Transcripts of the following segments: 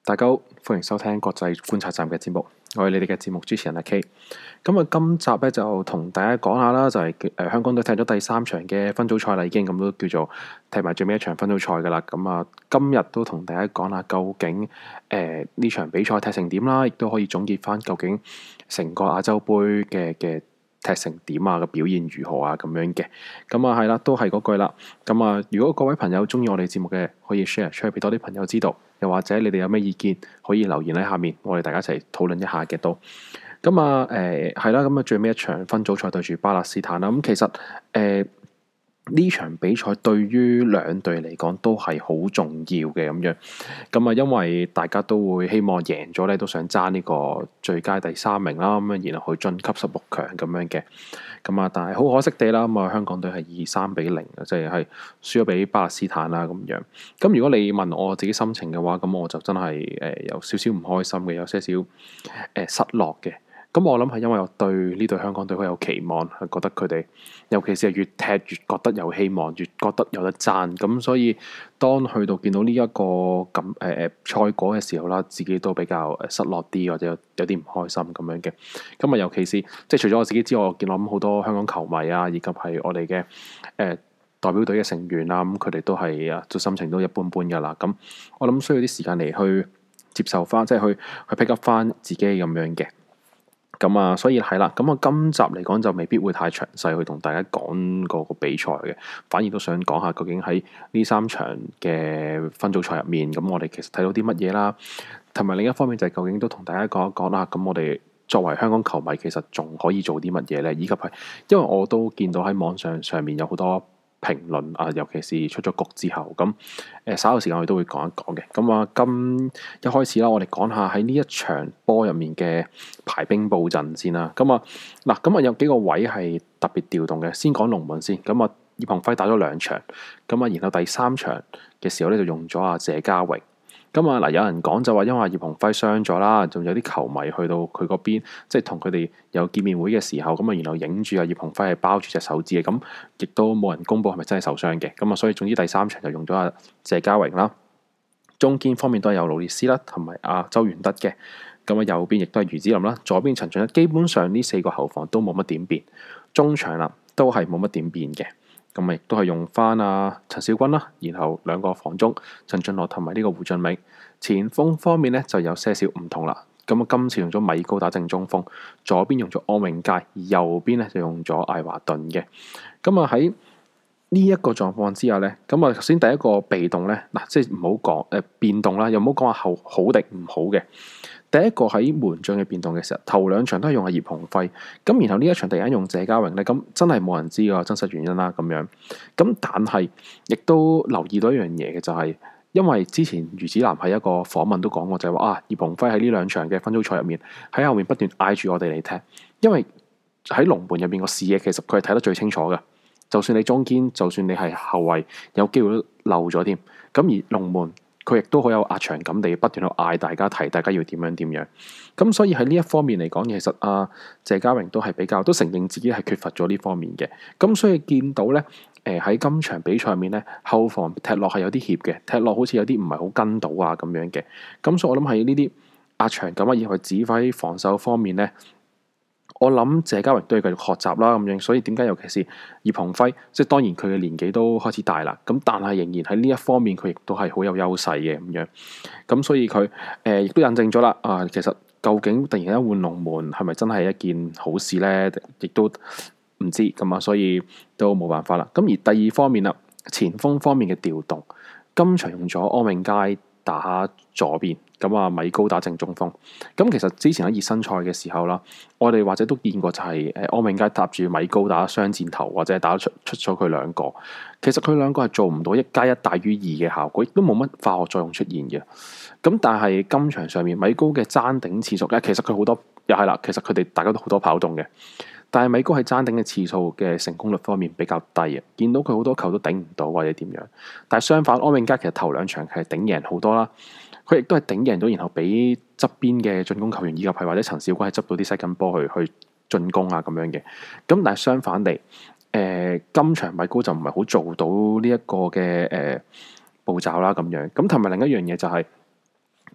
大家好，歡迎收聽國際觀察站嘅節目，我係你哋嘅節目主持人阿 K。咁啊，今集咧就同大家講下啦，就係香港隊踢咗第3場嘅分組賽啦，已經咁都叫做踢埋最尾一場分組賽噶啦。咁啊，今日都同大家講下究竟呢場比賽踢成點啦，亦都可以總結翻究竟成個亞洲杯嘅踢成點啊，個表現如何啊咁樣嘅。咁啊係啦，都係嗰句啦。咁啊，如果各位朋友中意我哋節目嘅，可以 share 出去俾多啲朋友知道。又或者你哋有咩意見，可以留言喺下面，我哋大家一齊討論一下嘅都。咁啊係啦，咁啊最尾一場分組賽對住巴勒斯坦啦。咁其實呢場比賽對於兩隊嚟講都係好重要嘅咁樣。咁啊，因為大家都會希望贏咗咧，都想爭呢個最佳第3名啦。咁啊，然後去晉級16強咁樣嘅。咁啊，但係好可惜地啦，咁啊香港隊係以3-0，即係輸咗俾巴勒斯坦啦咁樣。咁如果你問我自己心情嘅話，咁我就真係有少少唔開心嘅，有些少失落嘅。咁我諗係因為我對呢隊香港隊好有期望，係覺得佢哋尤其是係越踢越覺得有希望，越覺得有得爭。咁所以當去到見到呢一個咁賽果嘅時候啦，自己都比較失落啲，或者有啲唔開心咁樣嘅。咁啊，尤其是即係除咗我自己之外，我見到咁好多香港球迷啊，以及係我哋嘅代表隊嘅成員啊，咁佢哋都係啊，心情都一般般噶啦。咁我諗需要啲時間嚟去接受翻，即係去pick up 翻自己咁樣嘅。咁啊，所以係啦，咁啊，今集嚟講就未必會太詳細去同大家講個比賽嘅，反而都想講下究竟喺呢3場嘅分組賽入面，咁我哋其實睇到啲乜嘢啦，同埋另一方面就係究竟都同大家講一講啦。咁我哋作為香港球迷，其實仲可以做啲乜嘢呢？以及係因為我都見到喺網上面有好多評論啊，尤其是出咗局之後，咁稍後時間我哋都會講一講嘅。咁啊，一開始啦，我哋講下喺呢一場波入面嘅排兵布陣先啦。咁啊有幾個位係特別調動嘅。先講龍門先。咁啊，葉鴻輝打咗2場，咁啊，然後第3場嘅時候咧就用咗阿謝家榮。咁啊嗱，有人講就話因為葉鴻輝傷咗啦，仲有啲球迷去到佢嗰邊，即係同佢哋有見面會嘅時候，咁啊，然後影住阿葉鴻輝係包住隻手指嘅，咁亦都冇人公佈係咪真係受傷嘅。咁啊，所以總之第3場就用咗阿謝家榮啦。中堅方面都係有勞列斯啦，同埋阿周元德嘅。咁啊，右邊亦都係余子霖啦，左邊陳俊一。基本上呢4個後防都冇乜點變，中場啦都係冇乜點變嘅。咁亦都係用翻阿陳小軍啦，然後2個防中陳俊樂同埋呢個胡俊明。前鋒方面呢就有些少唔同啦。咁啊，今次用咗米高打正中鋒，左邊用咗安永佳，而右邊呢就用咗艾華頓嘅。咁啊，喺呢一個狀況之下呢，咁啊頭先第一個被動呢，嗱即係唔好講變動啦，又唔好講話好定唔好嘅。第一個喺門將嘅變動嘅時候，頭2場都係用阿葉鴻輝，咁然後呢一場突然間用謝家榮咧，咁真係冇人知個真實原因啦咁樣。咁但係亦都留意到一樣嘢嘅就係，因為之前余子南喺一個訪問都講過，就係話葉鴻輝喺呢2場嘅分組賽入面喺後面不斷嗌住我哋嚟踢，因為喺龍門入面個視野其實佢係睇得最清楚嘅，就算你中堅，就算你係後衞，有機會都漏咗添。咁而龍門佢亦都好有壓場感地不斷去嗌大家提，大家要點樣。咁所以喺呢一方面嚟講，其實謝家榮都係比較都承認自己係缺乏咗呢方面嘅。咁所以見到咧，喺今場比賽入面咧，後防踢落係有啲協嘅，踢落好似有啲唔係好跟到啊咁樣嘅。咁所以我諗喺呢啲壓場感啊，以及指揮防守方面咧，我諗謝家榮都要繼續學習啦咁樣，所以點解尤其是葉鴻輝，即係當然佢嘅年紀都開始大啦，咁但係仍然喺呢一方面佢亦都係好有優勢嘅咁樣，咁所以佢亦都印證咗啦其實究竟突然間換龍門係咪真係一件好事呢？亦都唔知咁啊，所以都冇辦法啦。咁而第二方面啦，前鋒方面嘅調動，今場用咗安永佳打左邊。咁啊，米高打正中鋒。咁其實之前喺熱身賽嘅時候啦，我哋或者都見過就係安永佳搭住米高打雙箭頭，或者打出咗佢2個。其實佢2個係做唔到1+1大於2嘅效果，亦都冇乜化學作用出現嘅。咁但係今場上面米高嘅爭頂次數咧，其實佢好多又係啦，其實佢哋大家都好多跑動嘅。但係米高喺爭頂嘅次數嘅成功率方面比較低啊，見到佢好多球都頂唔到或者點樣。但係相反，安永佳其實頭2場係頂贏好多啦。佢亦都係頂贏咗，然後俾側邊嘅進攻球員以及係或者陳小軍係執到啲西緊波去進攻啊咁樣嘅。咁但係相反地，今場米高就唔係好做到呢一個嘅步驟啦咁樣。咁同埋另一樣嘢就係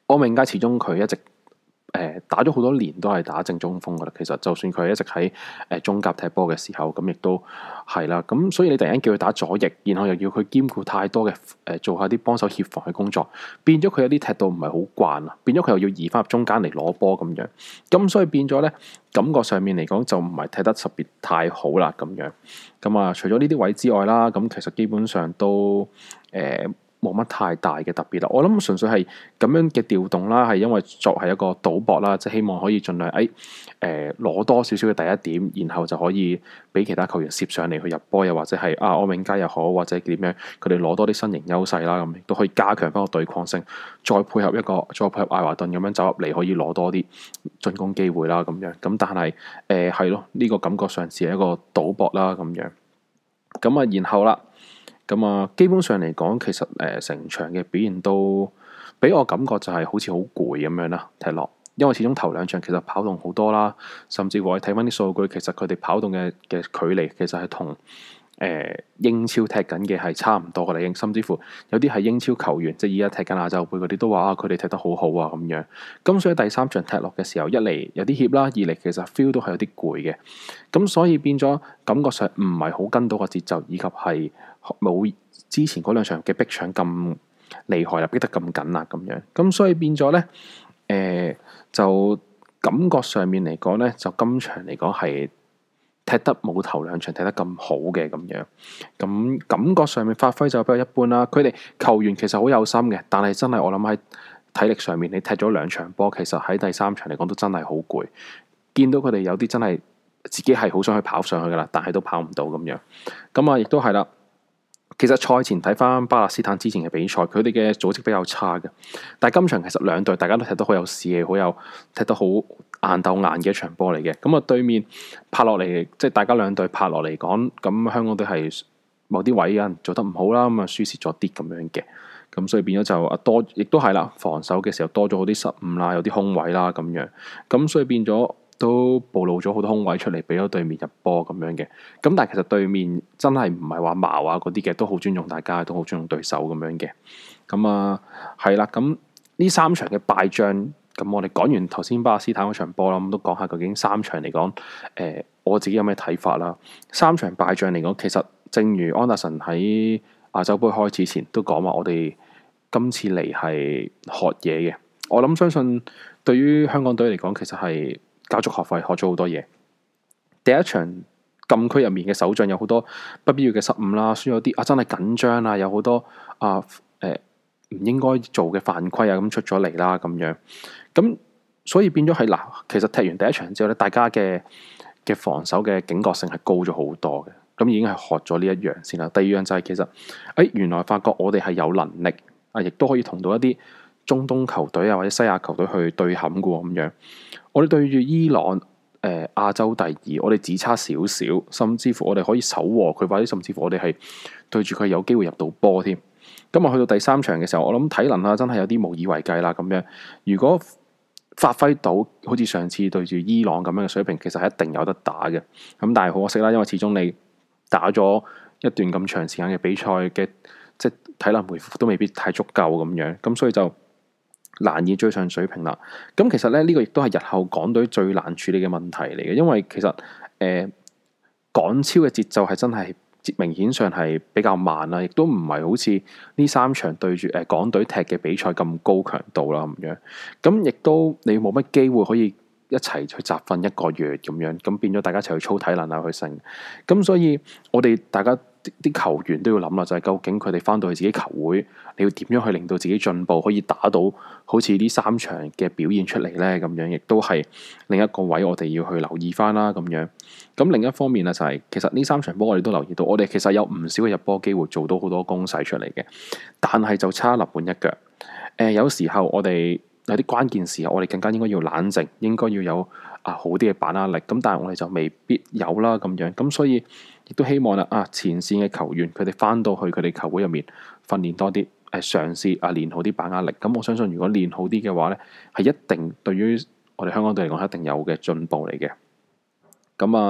柯明佳始終佢一直打咗好多年都係打正中鋒噶啦。其實就算佢一直喺中甲踢波嘅時候，咁亦都係啦。咁所以你突然間叫佢打左翼，然後又要佢兼顧太多嘅做下啲幫手協防嘅工作，變咗佢有啲踢到唔係好慣啊，變咗佢又要移翻入中間嚟攞波咁樣。咁所以變咗咧，感覺上面嚟講就唔係踢得特別太好啦咁樣。咁啊，除咗呢啲位之外啦，咁其實基本上都冇乜太大嘅特別啦，我諗純粹係咁樣嘅調動啦，係因為作係一個賭博啦，即係希望可以盡量攞多少少嘅第一點，然後就可以俾其他球員攝上嚟去入波，又或者係柯永佳又好，或者點樣，佢哋攞多啲身形優勢啦，咁亦都可以加強翻個對抗性，再配合艾華頓咁樣走入嚟，可以攞多啲進攻機會啦，咁樣。咁但係係咯，呢個感覺上似係一個賭博啦，咁樣。咁啊，然後啦。咁啊，基本上嚟講，其實成場嘅表現都俾我感覺就係好似好攰咁樣啦，踢落。因為始終頭兩場其實跑動好多啦，甚至乎我睇翻啲數據，其實佢哋跑動嘅距離其實係同英超踢緊嘅係差唔多嘅啦，已經甚至乎有啲係英超球員，即係而家踢緊亞洲盃嗰啲都話佢哋踢得好好啊咁樣。咁所以第三場踢落嘅時候，一嚟有啲怯啦，二嚟其實 feel 都係有啲攰嘅。咁所以變咗感覺上唔係好跟到個節奏，以及係冇之前嗰兩場嘅逼搶咁厲害啦，逼得咁緊啦咁樣。咁所以變咗咧，就感覺上面嚟講咧，就今場嚟講係踢得冇頭兩場踢得咁好嘅咁樣。咁感覺上面發揮就比較一般啦。佢哋球員其實好有心嘅，但係真係我諗喺體力上面，你踢咗兩場波，其實喺第三場嚟講都真係好攰。見到佢哋有啲真係自己係好想去跑上去噶啦，但係都跑唔到咁樣。咁啊，亦都係啦。其實賽前睇翻巴勒斯坦之前嘅比賽，佢哋嘅組織比較差嘅。但係今場其實兩隊大家都踢得好有士氣，好有踢得好硬鬥硬嘅一場波嚟嘅。咁啊，對面拍落嚟，即係大家兩隊拍落嚟講，咁香港隊係某啲位有人做得唔好啦，咁啊輸蝕咗啲咁樣嘅。咁所以變咗就多，亦都係啦。防守嘅時候多咗好啲失誤啦，有啲空位啦咁樣。咁所以變咗。都暴露咗好多空位出嚟，俾咗對面入波咁樣嘅。咁但係其實對面真係唔係話矛啊嗰啲嘅，都好尊重大家，都好尊重對手咁樣嘅。咁啊係啦，咁呢三場嘅敗仗，咁我哋講完頭先巴勒斯坦嗰場波啦，咁都講下究竟三場嚟講，我自己有咩睇法啦？三場敗仗嚟講，其實正如安達臣喺亞洲盃開始前都講話，我哋今次嚟係學嘢嘅。我諗相信對於香港隊嚟講，其實係交足學費，學咗好多嘢。第一場禁區入面嘅手仗有好多不必要嘅失誤啦，輸咗啲真係緊張啊，有好多唔應該做嘅犯規啊咁出咗嚟啦咁樣。咁所以變咗係嗱，其實踢完第一場之後咧，大家嘅防守嘅警覺性係高咗好多嘅。咁已經係學咗呢一樣先啦。第二樣就係其實原來發覺我哋係有能力亦都可以同到一啲中東球隊啊或者西亞球隊去對撼嘅喎咁樣。我哋對住伊朗亞洲第二，我哋只差少少，甚至乎我哋可以守和佢，或者甚至乎我哋係對住佢有機會入到波添。咁啊，去到第三場嘅時候，我諗體能真係有啲無以為繼啦咁樣。如果發揮到好似上次對住伊朗咁樣嘅水平，其實係一定有得打嘅。咁但係好可惜啦，因為始終你打咗一段咁長時間嘅比賽嘅，即係體能回復都未必太足夠咁樣，咁所以就難以追上水平啦。咁其實咧，呢個亦都係日後港隊最難處理嘅問題嚟嘅，因為其實港超嘅節奏係真係明顯上係比較慢啦，亦都唔係好似呢三場對住港隊踢嘅比賽咁高強度啦咁樣。咁亦都你冇乜機會可以一齊去集訓一個月咁樣，咁變咗大家一齊去操體能啊去成。咁所以我哋大家啲球員都要諗啦，就係究竟佢哋翻到去自己球會，你要點樣去令到自己進步，可以打到好似呢三場嘅表現出嚟呢？咁樣亦都係另一個位我哋要去留意翻啦。咁樣咁另一方面啊，就係其實呢三場波我哋都留意到，我哋其實有唔少嘅入波機會，做到好多攻勢出嚟嘅，但係就差臨門一腳。有時候我哋有啲關鍵時候，我哋更加應該要冷靜，應該要有好啲嘅把握力。咁但係我哋就未必有啦咁樣。咁所以亦都希望啦前線嘅球員佢哋翻到去佢哋球會入面訓練多啲，嘗試練好啲把握力。咁我相信如果練好啲嘅話咧，係一定對於我哋香港隊嚟講係一定有嘅進步嚟嘅。咁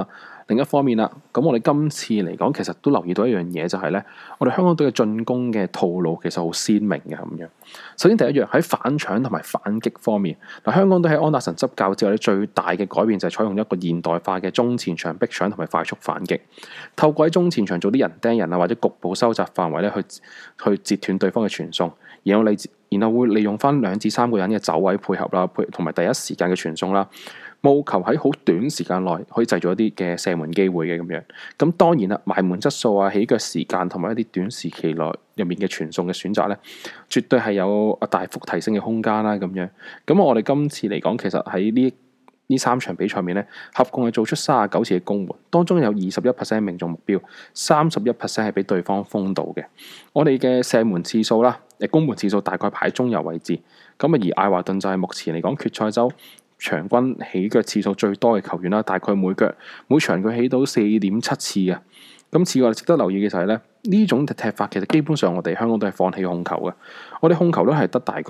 另一方面啦，咁我哋今次嚟講，其實都留意到一樣嘢，就係咧，我哋香港隊嘅進攻嘅套路其實好鮮明嘅咁樣。首先第一樣喺反搶同埋反擊方面，嗱，香港隊喺安達臣執教之後咧，最大嘅改變就係採用一個現代化嘅中前場逼搶同埋快速反擊，透過喺中前場做啲人盯人啊，或者局部收窄範圍咧，去截斷對方嘅傳送，然後會利用翻2至3個人嘅走位配合啦，同埋第一時間嘅傳送啦。務求喺好短時間內可以製造一啲嘅射門機會嘅咁樣，咁當然啦，埋門質素啊、起腳時間同埋一啲短時期內入面嘅傳送嘅選擇咧，絕對係有大幅提升嘅空間啦咁樣。咁我哋今次嚟講，其實喺呢3場比賽面咧，合共係做出39次嘅攻門，當中有21% 命中目標，31% 係俾對方封到嘅。我哋嘅射門次數啦，攻門次數大概排喺中游位置。咁而艾華頓就係目前嚟講決賽周場均起腳次數最多嘅球員啦，大概每場佢起到4.7次嘅。咁此外值得留意嘅就係咧，呢種踢法其實基本上我哋香港都係放棄控球嘅，我哋控球率係得大概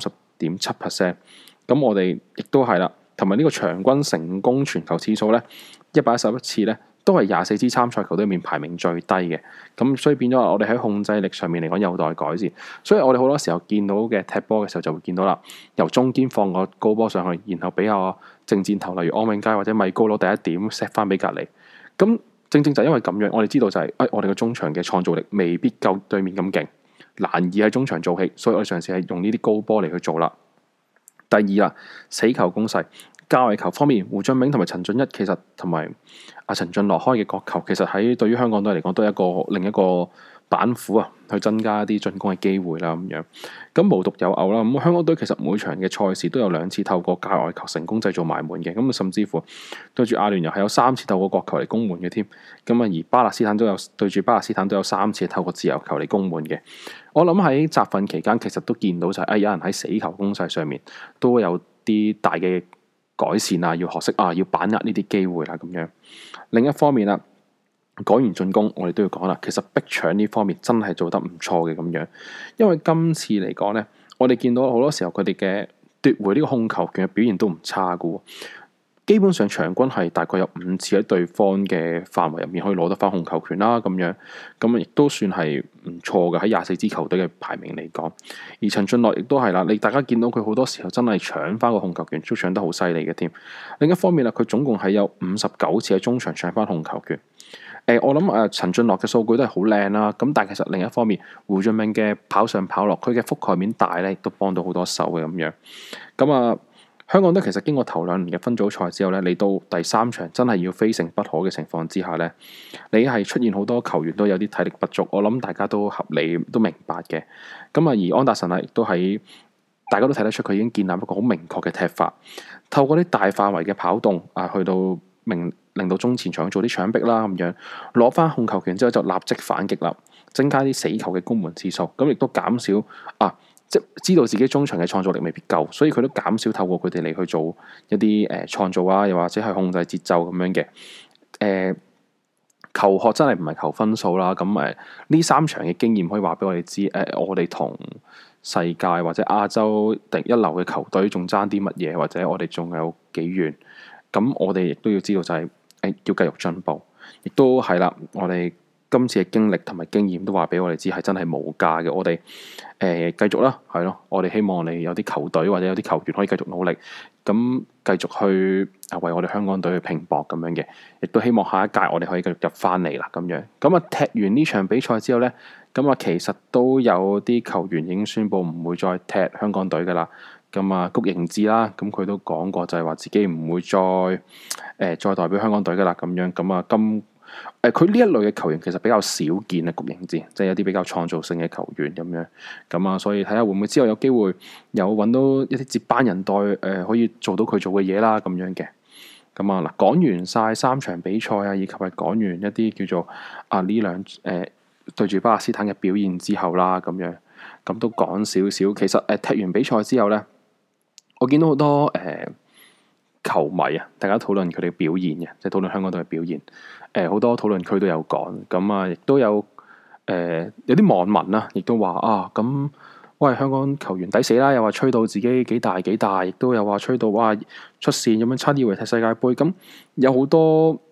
30.7%。咁我哋亦都係啦，同埋呢個場均成功傳球次數咧111次咧，都係24支參賽球隊入面排名最低嘅。咁所以變咗我哋喺控制力上面嚟講有待改善。所以我哋好多時候見到嘅踢波嘅時候就會見到啦，由中堅放個高波上去，然後俾個正箭頭，例如安永佳或者米高攞第一點 set 翻俾隔離。咁正就因為咁樣，我哋知道就係我哋嘅中場嘅創造力未必夠對面咁勁，難以喺中場做起，所以我哋嘗試係用呢啲高波嚟去做啦。第二啦，死球攻勢。界外球方面，胡俊銘同埋陳俊一其實同埋陳俊樂開嘅角球，其實喺對於香港隊嚟講都係另一個板斧啊，去增加一啲進攻嘅機會啦咁樣。咁無獨有偶啦，咁香港隊其實每場嘅賽事都有2次透過界外球成功製造埋門嘅，咁甚至乎對住阿聯酋係有3次透過角球嚟攻門嘅添。咁而巴勒斯坦對住巴勒斯坦都有3次透過自由球嚟攻門嘅。我諗喺集訓期間其實都見到就係有人喺死球攻勢上面都有啲大嘅改善啊，要學識要把握呢啲機會啦咁樣。另一方面啦，講完進攻，我哋都要講啦，其實逼搶呢方面真係做得唔錯嘅咁樣。因為今次嚟講呢，我哋見到好多時候佢哋嘅奪回呢個控球權嘅表現都唔差㗎喎。基本上場均係大概有5次喺對方嘅範圍入面可以攞得翻控球權啦咁樣，咁亦都算係唔錯嘅喺24支球隊嘅排名嚟講。而陳俊樂亦都係啦，大家見到佢好多時候真係搶翻個控球權，都搶得好犀利嘅添。另一方面啦，佢總共係有59次喺中場搶翻控球權。我諗陳俊樂嘅數據都係好靚啦，咁但係其實另一方面，胡俊銘嘅跑上跑落，佢嘅覆蓋面大咧，亦都幫到好多手嘅咁樣。咁香港隊其實經過頭2年嘅分組賽之後咧，嚟到第3場真係要非勝不可嘅情況之下咧，你係出現好多球員都有啲體力不足，我諗大家都合理都明白嘅。而安達臣亦都喺大家都睇得出佢已經建立一個好明確嘅踢法，透過啲大範圍嘅跑動去到令到中前場做啲搶逼啦咁樣，攞翻控球權之後就立即反擊啦，增加啲死球嘅攻門次數，咁亦都減少即知道自己中場嘅創造力未必夠，所以佢都減少透過佢哋嚟去做一啲創造啊，又或者係控制節奏咁樣嘅。求學真係唔係求分數啦。咁呢3場嘅經驗可以話俾我哋知，我哋同世界或者亞洲第一流嘅球隊仲爭啲乜嘢，或者我哋仲有幾遠。咁我哋亦都要知道就係要繼續進步，亦都係啦。我哋今次嘅經歷同埋經驗都話俾我哋知係真係無價嘅。我哋繼續啦，係咯。我哋希望你有啲球隊或者有啲球員可以繼續努力，咁繼續去為我哋香港隊去拼搏咁樣嘅。亦都希望下一屆我哋可以繼續入翻嚟啦咁樣。踢完呢場比賽之後呢，其實都有啲球員已經宣布唔會再踢香港隊噶啦。谷盈智啦，佢都講過就係話自己唔會再代表香港隊噶啦咁樣。佢呢一類嘅球員其實比較少見啊，谷盈智即係有啲比較創造性嘅球員咁樣。所以睇下會唔會之後有機會有揾到一啲接班人代可以做到佢做嘅嘢啦咁樣嘅。講完晒3場比賽啊，以及係講完一啲叫做呢兩對住巴勒斯坦嘅表現之後啦，咁都講少少。其實踢完比賽之後呢，我見到好多球迷啊，大家討論佢哋嘅表現嘅，即係討論香港隊嘅表現。好多討論區都有講，亦都有有啲網民啦，亦都話喂，香港球員抵死啦，又話吹到自己幾大幾大，亦都有話吹到出線咁樣，差啲以為踢世界盃。有好多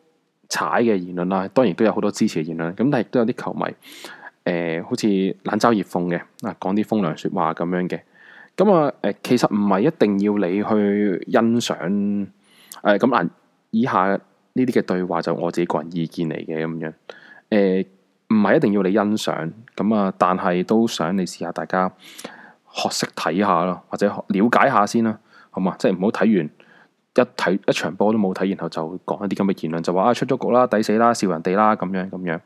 踩嘅言論啦，當然都有好多支持嘅言論，咁但係亦都有啲球迷好似冷嘲熱諷嘅講啲風涼説話咁樣嘅。咁其實唔係一定要你去欣賞咁以下呢啲嘅對話就我自己個人意見嚟嘅咁樣。唔係一定要你欣賞咁但係都想你試下大家學識睇下咯，或者了解下先啦，好嘛？即係唔好睇完一場波都冇睇，然後就講一啲咁嘅言論，就話出咗局啦，抵死啦，笑人哋啦，咁樣。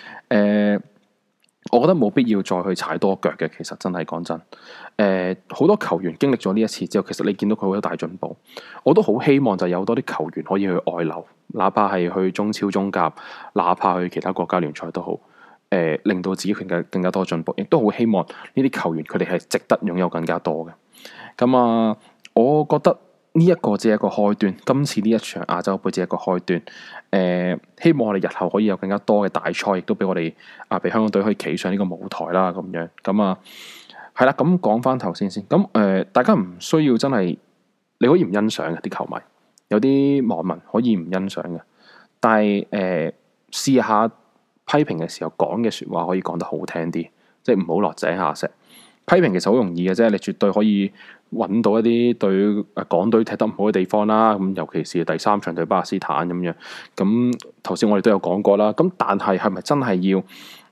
我覺得冇必要再去踩多腳嘅。其實真係講真，好多球員經歷咗呢一次之後，其實你見到佢好多大進步。我都好希望就有多啲球員可以去外流，哪怕係去中超、中甲，哪怕去其他國家聯賽都好。令到自己更加多進步，亦都好希望呢啲球員佢哋係值得擁有更加多嘅。咁我覺得呢一個只係一個開端，今次呢一場亞洲盃只係一個開端。希望我哋日後可以有更加多嘅大賽，亦都俾我哋俾香港隊可以企上呢個舞台啦。咁樣係啦。咁講翻頭先。咁大家唔需要真係你可以唔欣賞嘅啲球迷，有啲網民可以唔欣賞嘅，但係試下批評嘅時候講嘅説話可以講得好聽啲，即係唔好落井下石。批評其實好容易嘅啫，你絕對可以揾到一啲對港隊踢得唔好嘅地方啦。咁尤其是第3場對巴勒斯坦咁樣。咁頭先我哋都有講過啦。咁但係咪真係要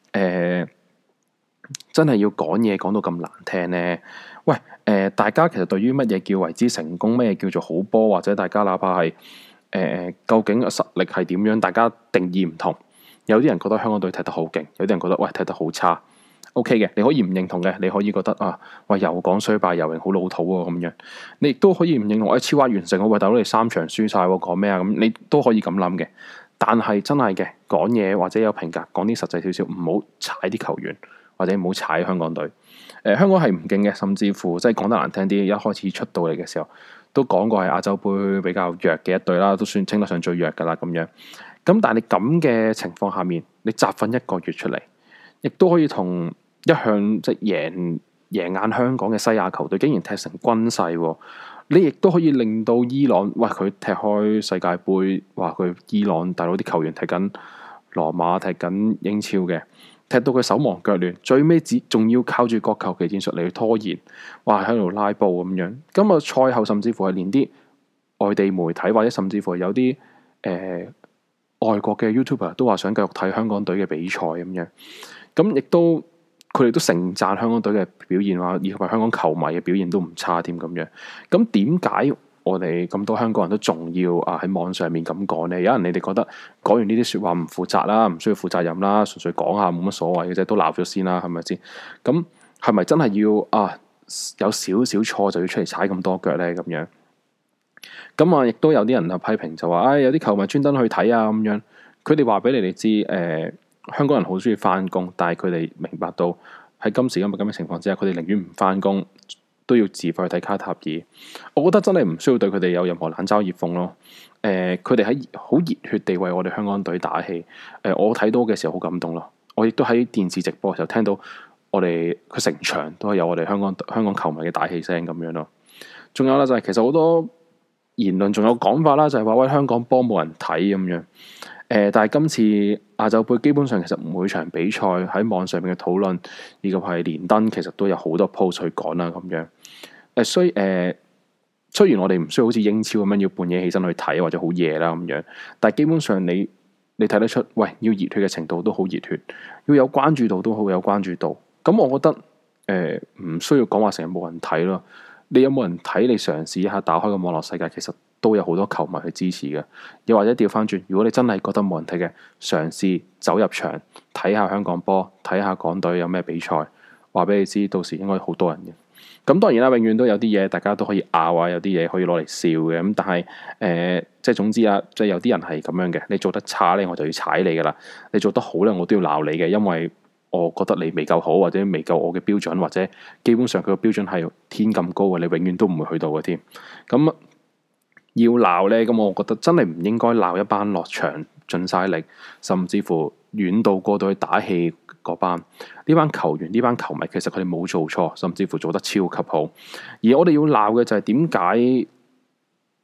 講嘢講到咁難聽呢？喂，大家其實對於乜嘢叫為之成功，乜嘢叫做好波，或者大家哪怕係究竟實力係點樣，大家定義唔同。有啲人覺得香港隊踢得好勁，有啲人覺得喂踢得好差。OK 嘅，你可以唔認同嘅，你可以覺得喂又講衰敗又好老土喎咁樣。你亦都可以唔認同，超額完成，喂大佬你3場輸晒喎，講咩啊？咁你都可以咁諗嘅。但係真係嘅講嘢或者有評價，講啲實際少少，唔好踩啲球員，或者唔好踩香港隊。香港係唔勁嘅，甚至乎即係講得難聽啲，一開始出到嚟嘅時候都講過係亞洲盃比較弱嘅一隊啦，都算稱得上最弱噶啦咁樣。咁但係你咁嘅情況下面，你集訓1個月出嚟，亦都可以同一向即係贏眼香港嘅西亞球隊，竟然踢成均勢。你亦都可以令到伊朗，喂佢踢開世界盃，話佢伊朗大佬啲球員踢緊羅馬、踢緊英超嘅，踢到佢手忙腳亂，最尾仲要靠住國球期戰術嚟去拖延，哇喺度拉布咁樣。咁賽後甚至乎係連啲外地媒體或者甚至乎有啲外國嘅 YouTuber 都話想繼續睇香港隊嘅比賽咁樣，咁亦都佢哋都盛讚香港隊嘅表現，話以及香港球迷嘅表現都唔差添咁樣。咁點解我哋咁多香港人都仲要喺網上面咁講呢？有人你哋覺得講完呢啲説話唔負責啦，唔需要負責任啦，純粹講下冇乜所謂嘅啫，都鬧咗先啦，係咪先？咁係咪真係要有少少錯就要出嚟踩咁多腳呢？咁樣？咁亦都有啲人批評就話，有啲球迷專登去睇咁樣。佢哋話俾你哋知，香港人好中意翻工，但係佢哋明白到喺今時今日咁嘅情況之下，佢哋寧願唔翻工，都要自費去睇卡塔爾。我覺得真係唔需要對佢哋有任何冷嘲熱諷咯。佢哋喺好熱血地為我哋香港隊打氣。我睇到嘅時候好感動咯。我亦都喺電視直播嘅時候聽到佢成場都係有我哋香港球迷嘅打氣聲咁樣咯。仲有啦，就係其實好多言論仲有講法啦，就係話喂香港波冇人睇咁樣。但係今次亞洲盃基本上其實每場比賽喺網上面嘅討論以及係連登，其實都有好多 post 去講啦咁樣。雖然我哋唔需要好似英超咁樣要半夜起身去睇或者好夜啦咁樣，但係基本上你睇得出，喂要熱血嘅程度都好熱血，要有關注度都好有關注度。咁我覺得唔需要講話成日冇人睇咯。你有冇人睇？你嘗試一下打開個網絡世界，其實都有好多球迷去支持嘅。又或者調翻轉，如果你真係覺得冇人睇嘅，嘗試走入場睇下香港波，睇下港隊有咩比賽，話俾你知，到時應該好多人嘅。咁當然啦，永遠都有啲嘢大家都可以拗啊，有啲嘢可以攞嚟笑嘅。咁但係即係總之啊，即係有啲人係咁樣嘅。你做得差咧，我就要踩你噶啦；你做得好咧，我都要鬧你嘅，因為我覺得你未夠好，或者未夠我嘅標準，或者基本上佢個標準係天咁高嘅，你永遠都唔會去到嘅添。咁要鬧呢，咁我覺得真係唔應該鬧一班落場盡晒力，甚至乎遠到過到去打氣嗰班。呢班球員、呢班球迷，其實佢哋冇做錯，甚至乎做得超級好。而我哋要鬧嘅就係點解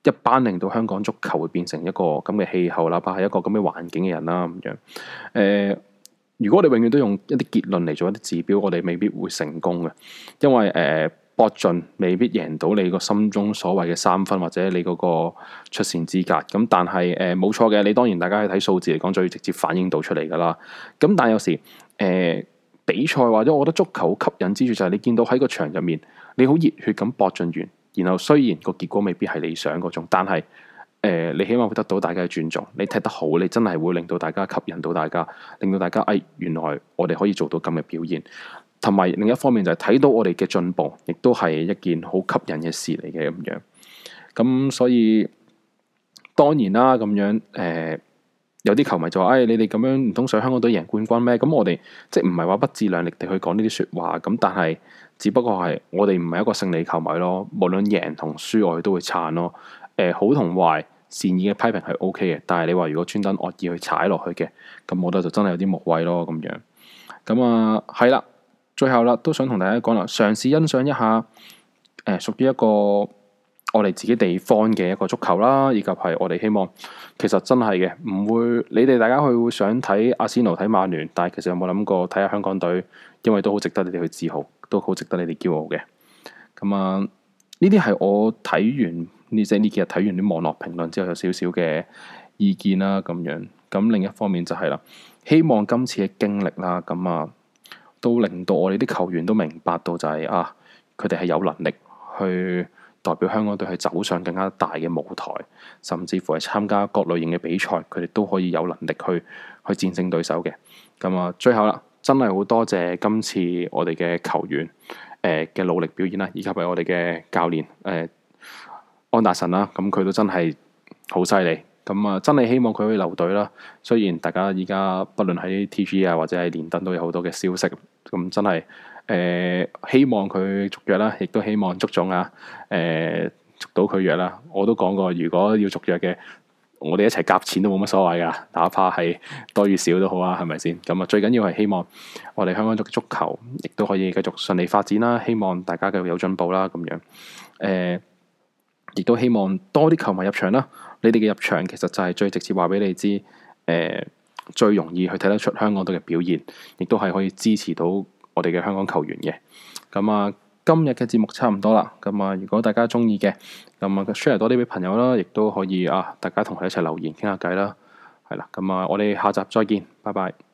一班令到香港足球會變成一個咁嘅氣候，哪怕係一個咁嘅環境嘅人啦咁樣。如果我哋永遠都用一啲結論嚟做一啲指標，我哋未必會成功嘅，因為搏盡未必贏到你個心中所謂嘅3分或者你嗰個出線資格。咁但係冇錯嘅，你當然大家去睇數字嚟講，最直接反映到出嚟噶啦。咁但係有時比賽或者我覺得足球好吸引之處就係你見到喺個場入面，你好熱血咁搏盡完，然後雖然個結果未必係理想嗰種，但係你希望會得到大家嘅尊重，你踢得好，你真係會令到大家吸引到大家，令到大家原來我哋可以做到咁嘅表現。同埋另一方面就係睇到我哋嘅進步，亦都係一件好吸引嘅事嚟嘅咁樣。咁所以當然啦，咁樣有啲球迷就話：你哋咁樣唔通想香港隊贏冠軍咩？咁我哋即係唔係話不自量力地去講呢啲説話，咁但係只不過係我哋唔係一個勝利球迷咯。無論贏同輸，我哋都會撐咯。好同壞，善意嘅批評係 OK 嘅，但係你話如果專登惡意去踩落去嘅，咁我覺得就真係有啲無謂咯咁樣。咁係啦，最後啦都想同大家講啦，嘗試欣賞一下屬於一個我哋自己地方嘅一個足球啦，以及係我哋希望其實真係嘅，唔會你哋大家去會想睇阿仙奴睇曼聯，但係其實有冇諗過睇下香港隊，因為都好值得你哋去自豪，都好值得你哋驕傲嘅。咁呢啲係我睇完呢幾日睇完啲網絡評論之後有少少嘅意見啦咁樣。咁另一方面就係啦，希望今次嘅經歷啦，都令到我哋啲球員都明白到就係佢哋係有能力去代表香港隊去走上更加大嘅舞台，甚至乎係參加各類型嘅比賽，佢哋都可以有能力去戰勝對手嘅。最後啦，真係好多謝今次我哋嘅球員嘅努力表現啦，以及係我哋嘅教練安達臣啦，咁佢都真係好犀利。真係希望佢可以留隊啦。雖然大家依家不論喺 TG 或者係連登都有好多嘅消息，咁真係希望佢續約啦，亦都希望足總續到佢約啦。我都講過，如果要續約嘅，我哋一齊夾錢都冇乜所謂噶，哪怕係多與少都好啊，係咪先？最緊要係希望我哋香港足球亦都可以繼續順利發展啦。希望大家繼續有進步啦，咁樣亦都希望多啲球迷入場啦。你哋嘅入場其實就係最直接話俾你知，最容易去睇得出香港隊嘅表現，亦都係可以支持到我哋嘅香港球員嘅。今日嘅節目差唔多啦。如果大家中意嘅，share 多啲俾朋友啦，亦都可以大家同佢一齊留言傾下偈啦。係啦，我哋下集再見，拜拜。